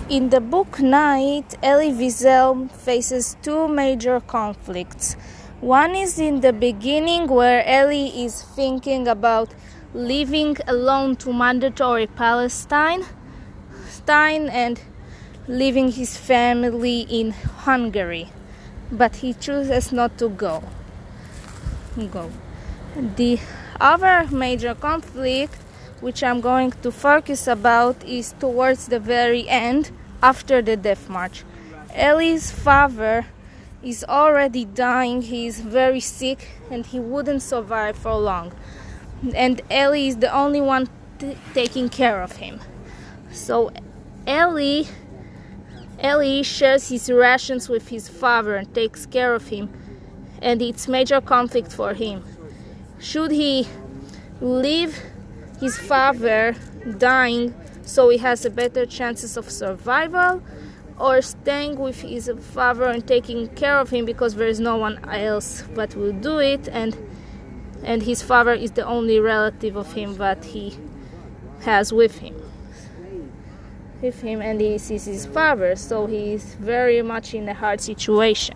In the book Night, Elie Wiesel faces two major conflicts. One is in the beginning, where Elie is thinking about leaving alone to mandatory Palestine and leaving his family in Hungary, but he chooses not to go. The other major conflict, which I'm going to focus about, is towards the very end, after the death march. Elie's father is already dying. He is very sick and he wouldn't survive for long, and Elie is the only one taking care of him. So Elie shares his rations with his father and takes care of him, and it's major conflict for him. Should he leave his father dying so he has a better chances of survival, or staying with his father and taking care of him because there is no one else that will do it, and his father is the only relative of him that he has with him, and he sees his father, so he is very much in a hard situation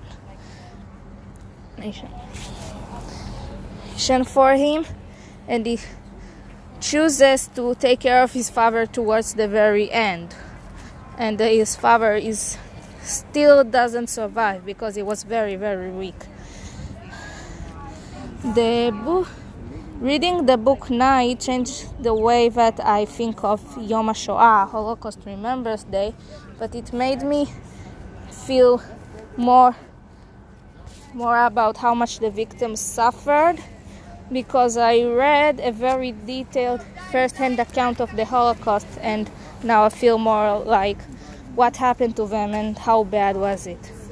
for him, and he chooses to take care of his father towards the very end, and his father still doesn't survive because he was very, very weak. Reading the book Night changed the way that I think of Yom HaShoah, Holocaust Remembrance Day, but it made me feel more about how much the victims suffered, because I read a very detailed first-hand account of the Holocaust, and now I feel more like what happened to them and how bad was it.